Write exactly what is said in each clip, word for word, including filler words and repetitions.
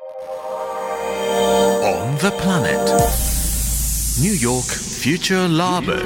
On the planet New York Future Labo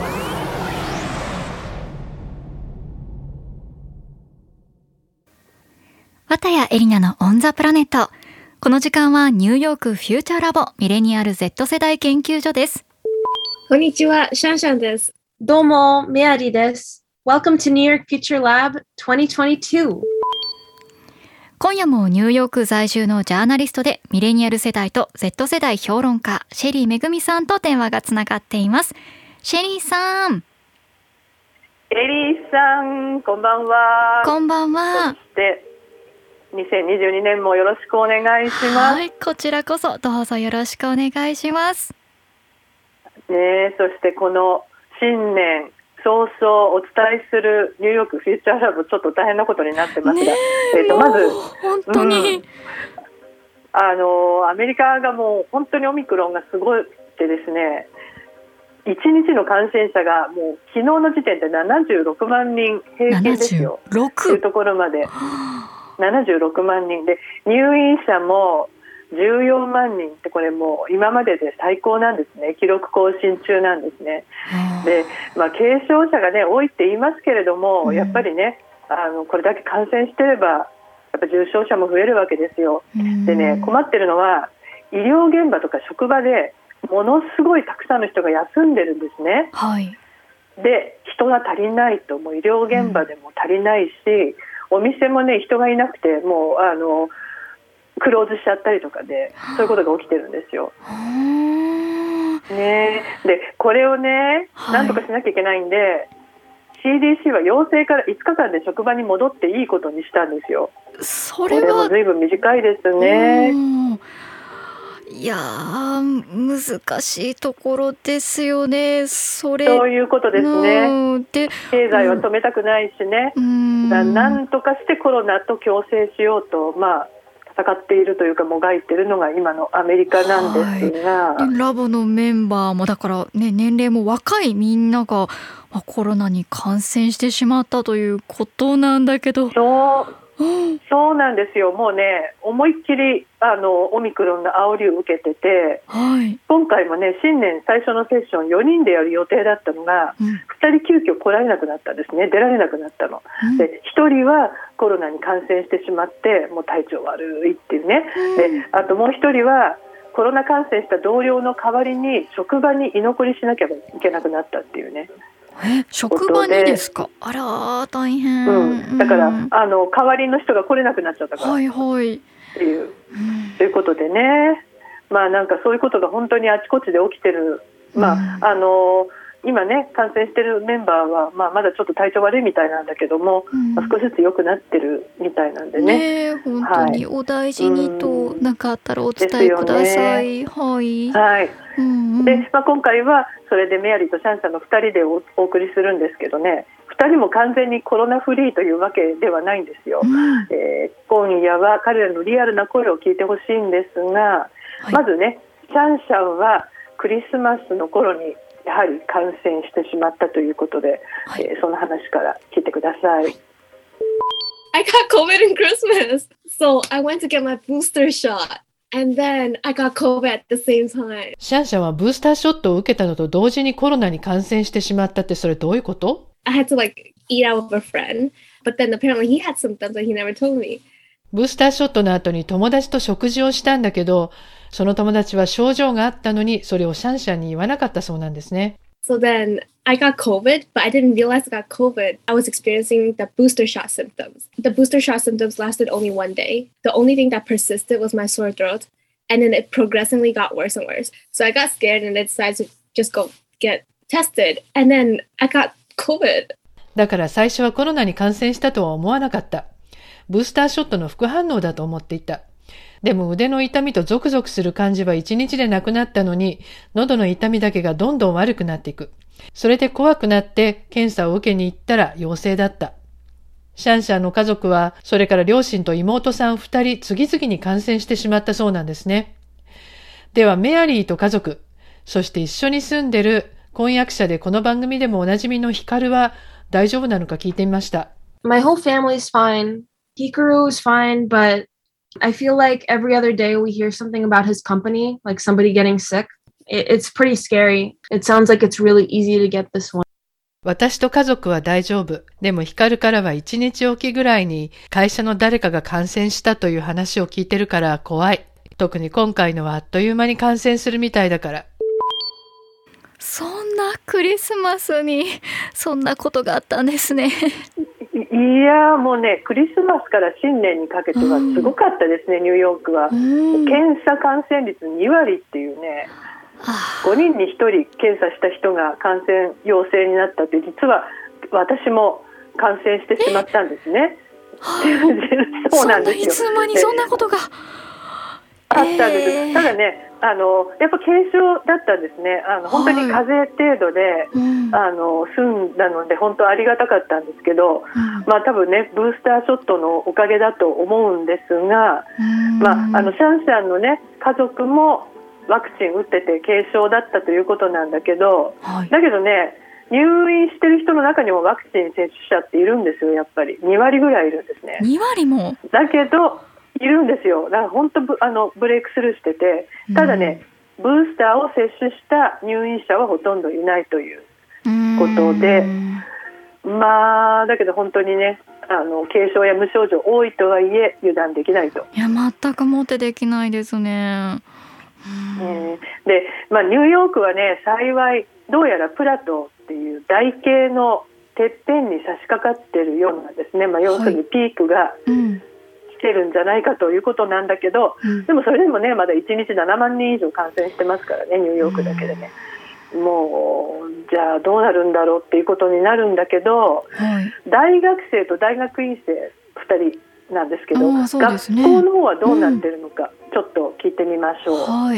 綿谷エリナのオンザプラネット。この時間はニューヨークフューチャーラボミレニアル Z 世代研究所です。 こんにちは、シャンシャンです。 どうも、メアリーです。Welcome to New York Future Lab にせんにじゅうに。 今夜もニューヨーク在住のジャーナリストでミレニアル世代と Z 世代評論家シェリーめぐみさんと電話がつながっています。シェリーさん。 エリーさん、こんばんは。 こんばんは。 そしてにせんにじゅうにねんもよろしくお願いします。 はい、こちらこそどうぞよろしくお願いします。 ね、そしてこの新年早々お伝えするニューヨークフューチャーラボちょっと大変なことになってますが、えー、とまず本当に、うん、 あのアメリカがもう本当にオミクロンがすごいってですね、いちにちの感染者がもう昨日の時点でななじゅうろくまんにん平均ですよ。 ななじゅうろくというところまでななじゅうろくまんにんで、入院者もじゅうよんまんにんって、これもう今までで最高なんですね。記録更新中なんですね。で、まあ、軽症者がね多いって言いますけれども、うん、やっぱりねあのこれだけ感染してればやっぱ重症者も増えるわけですよ。でね、困ってるのは医療現場とか職場でものすごいたくさんの人が休んでるんですね。 はい、 で人が足りないと、もう医療現場でも足りないし、うん、お店もね人がいなくてもうあのクローズしちゃったりとかで、そういうことが起きてるんですよ。ね、でこれをねなんとかしなきゃいけないんで、はい、シーディーシー は陽性からいつかかんで職場に戻っていいことにしたんですよ。 それはこれも随分短いですね。 いやー難しいところですよね。それそういうことですね。で経済は止めたくないしね、うん、だなんとかしてコロナと共生しようと、まあ戦っているというかもがいているのが今のアメリカなんですが、 はい、ラボのメンバーもだから、ね、年齢も若いみんなが、まあ、コロナに感染してしまったということなんだけど、 そう、うん、そうなんですよ。もうね思いっきりあのオミクロンの煽りを受けてて、 はい、 今回もね新年最初のセッションよにんでやる予定だったのが、うん、ふたり急遽来られなくなったんですね。出られなくなったの、うん、でひとりはコロナに感染してしまってもう体調悪いっていうね、うん、であともうひとりはコロナ感染した同僚の代わりに職場に居残りしなきゃいけなくなったっていうね。 え職場にですか。あら大変、 うん、だから、うん、あの代わりの人が来れなくなっちゃったから、 はいはい、 っていう、うん、ということでね、まあなんかそういうことが本当にあちこちで起きてる、まあ、うん、あの今ね感染してるメンバーは、まあ、まだちょっと体調悪いみたいなんだけども、うんまあ、少しずつ良くなってるみたいなんでね。 ね本当にお大事にと、何、はい、かあったらお伝えください。 ね、 はい、 はいうんうん、でまあ、今回はそれでメアリーとシャンシャンのふたりで お, お送りするんですけどね、ふたりも完全にコロナフリーというわけではないんですよ。うんえー、今夜は彼らのリアルな声を聞いてほしいんですが、はい、まずねシャンシャンはクリスマスの頃にやはり感染してしまったということで、はいえー、その話から聞いてください。 I got COVID in Christmas, so I went to get my booster shot, and then I got COVID at the same time. シャンシャンはブースターショットを受けたのと同時にコロナに感染してしまったって、それどういうこと？ I had to like eat out with a friend, but then apparently he had symptoms that he never told me. ブースターショットの後に友達と食事をしたんだけど、その友達は症状があったのにそれをシャンシャンに言わなかったそうなんですね。 So then I got COVID, but I didn't realize I got COVID. I was experiencing the booster shot symptoms. The booster shot symptoms lasted only one day. The only thing that persisted was my sore throat, and then it progressively got worse and worse. So I got scared and I decided to just go get tested, and then I got COVID. だから最初はコロナに感染したとは思わなかった。ブースターショットの副反応だと思っていた。でも腕の痛みとゾクゾクする感じはいちにちでなくなったのに、喉の痛みだけがどんどん悪くなっていく。それで怖くなって検査を受けに行ったら陽性だった。シャンシャンの家族は、それから両親と妹さんふたり次々に感染してしまったそうなんですね。ではメアリーと家族、そして一緒に住んでる婚約者でこの番組でもおなじみのヒカルは大丈夫なのか聞いてみました。 My whole family is fine. Hikaru is fine, but I feel like every other day we hear something about his company, like somebody getting sick. It, it's pretty scary. It sounds like it's really easy to get this one. 私と家族は大丈夫。でもヒカルからはいちにちおきぐらいに会社の誰かが感染したという話を聞いてるから怖い。特に今回のはあっという間に感染するみたいだから。 そんなクリスマスにそんなことがあったんですね。 いやもうね、クリスマスから新年にかけてはすごかったですね、うん、ニューヨークは、うん、検査感染率にわりっていうね、ごにんにひとり検査した人が感染陽性になったって、実は私も感染してしまったんですね。そうなんですよ。 そんないつ間にそんなことがあったんです、えー、ただね、あのやっぱ軽症だったんですね。あの本当に風邪程度で、はい、あの済んだので本当ありがたかったんですけど、うん、まあ多分ねブースターショットのおかげだと思うんですが、まあ、あのシャンシャンのね家族もワクチン打ってて軽症だったということなんだけど、はい、だけどね入院してる人の中にもワクチン接種者っているんですよ。やっぱりにわりぐらいいるんですね。 にわりもだけどいるんですよ。だから本当ブあのブレイクスルーしてて、ただね、うん、ブースターを接種した入院者はほとんどいないということで、まあだけど本当にねあの軽症や無症状多いとはいえ油断できないと。 いや全くもってできないですね。 うん、で、まあ、ニューヨークはね幸いどうやらプラトーっていう台形のてっぺんに差し掛かってるようなんですね。まあ、要するにピークが来てるんじゃないかということなんだけど、うん、でもそれでもねまだいちにちななまんにん以上感染してますからねニューヨークだけでね、うん、もうじゃあどうなるんだろうっていうことになるんだけど、はい、大学生と大学院生ふたりなんですけど、ね、学校の方はどうなってるのか、うん、ちょっと聞いてみましょう。はい。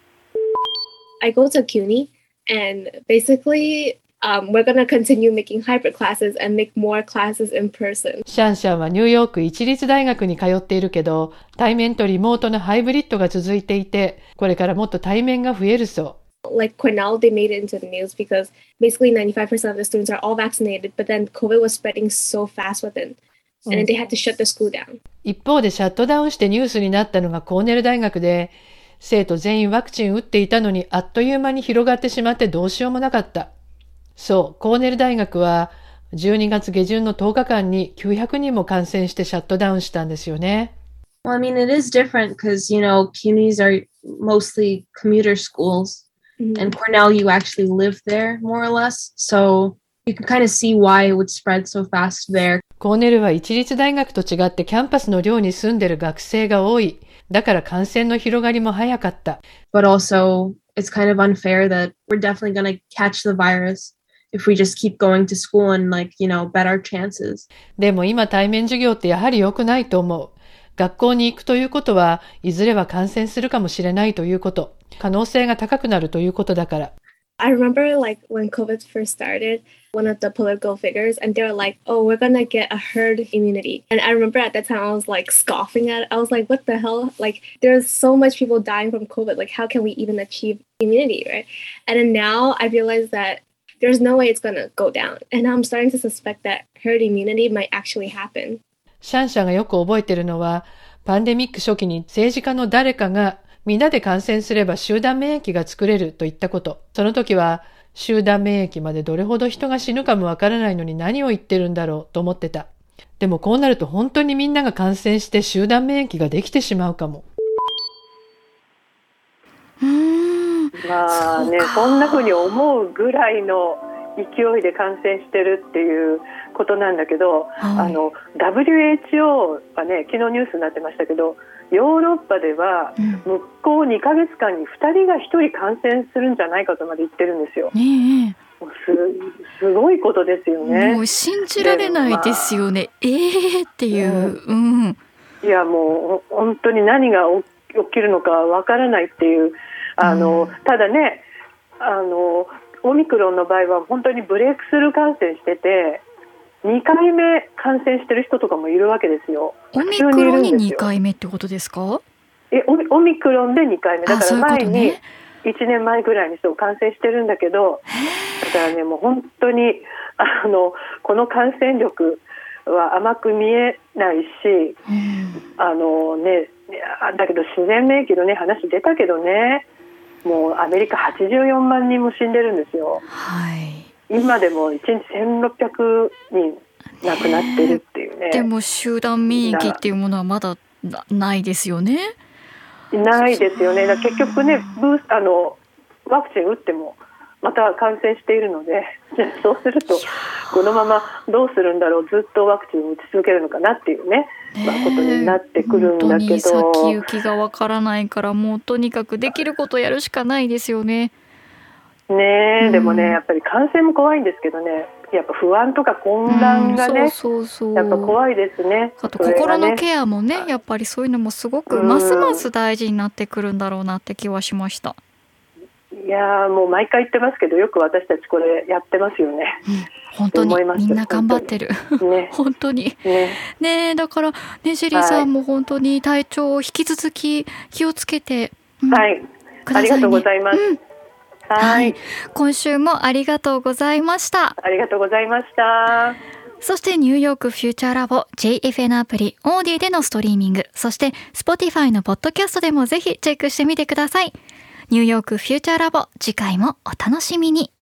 I go to CUNY and basically um, we're going to continue making hybrid classes and make more classes in person. シャンシャンはニューヨーク一律大学に通っているけど、対面とリモートのハイブリッドが続いていて、これからもっと対面が増えるそう。 Like Cornell, they made it into the news because basically ninety-five percent of the students are all vaccinated, but then COVID was spreading so fast within.And then they had to shut the school down. 一方でシャットダウンしてニュースになったのがコーネル大学で、生徒全員ワクチン打っていたのにあっという間に広がってしまってどうしようもなかった。そう、コーネル大学はじゅうにがつ下旬のとおかかんにきゅうひゃくにんも感染してシャットダウンしたんですよね。 Well, I mean, it is different because, you know, C U N Ys are mostly commuter schools, mm-hmm. and Cornell, you actually live there more or less. So...You can kind of see why it would spread so fast there. コーネルは一律大学と違ってキャンパスの寮に住んでる学生が多い。だから感染の広がりも早かった。 But also, it's kind of unfair that we're definitely going to catch the virus if we just keep going to school and like, you know, bet our chances. でも今対面授業ってやはり良くないと思う。学校に行くということはいずれは感染するかもしれないということ。可能性が高くなるということだから。 I remember like when COVID first started, one of the political figures, and they were like, oh, we're going to get a herd immunity. And I remember at that time, I was like scoffing at it. I was like, what the hell? Like there's so much people dying from COVID. Like how can we even achieve immunity, right? And then now I realize that there's no way it's going to go down. And I'm starting to suspect that herd immunity might actually happen. シャンシャンがよく覚えてるのは、パンデミック初期に政治家の誰かがみんなで感染すれば集団免疫が作れると言ったこと。その時は集団免疫までどれほど人が死ぬかもわからないのに何を言ってるんだろうと思ってた。でもこうなると本当にみんなが感染して集団免疫ができてしまうかも。 うーんまあね、そんな風に思うぐらいの勢いで感染してるっていうことなんだけど、はい、あの ダブリューエイチオー はね昨日ニュースになってましたけど、ヨーロッパでは向こうにかげつかんにふたりがひとり感染するんじゃないかとまで言ってるんですよ、ね、えもう す, すごいことですよね。 もう信じられないですよね、まあ、えーっていう、うんうん、 いやもう本当に何が起きるのかわからないっていうあの、うん、ただねあのオミクロンの場合は本当にブレイクスルー感染しててにかいめ感染してる人とかもいるわけですよ。 オミクロンににかいめってことですか？ え オ, オミクロンでにかいめだから前にいちねんまえぐらいにそう感染してるんだけど、だからねもう本当にあのこの感染力は甘く見えないし、 あのね、だけど自然免疫のね話出たけどね、もうアメリカはちじゅうよんまんにんも死んでるんですよ。 はい。 今でもいちにちせんろっぴゃくにん亡くなってるっていうね。 でも集団免疫っていうものはまだな、ないですよね。 ないですよね。だ結局ね、ブースあのワクチン打ってもまた感染しているので、そうするとこのままどうするんだろう、ずっとワクチンを打ち続けるのかなっていうね、まあ、ことになってくるんだけど、 本当に先行きがわからないから、もうとにかくできることをやるしかないですよね。 ねえ、でもね、やっぱり感染も怖いんですけどね、やっぱ不安とか混乱がね、 うん、そうそうそう、 やっぱ怖いですね。 あと心のケアもね、やっぱりそういうのもすごくますます大事になってくるんだろうなって気はしました。 いやもう毎回言ってますけど、よく私たちこれやってますよね、 うん、本当にみんな頑張ってる本当に、ね、本当にね、ね、だからね、ジェリーさんも本当に体調を引き続き気をつけて、うん、はい、 ありがとうございます、うん、 はい、はい、今週もありがとうございました。 ありがとうございました。 そしてニューヨークフューチャーラボ ジェイエフエヌ アプリオーディでのストリーミング、そして Spotify のポッドキャストでもぜひチェックしてみてください。ニューヨークフューチャーラボ、次回もお楽しみに。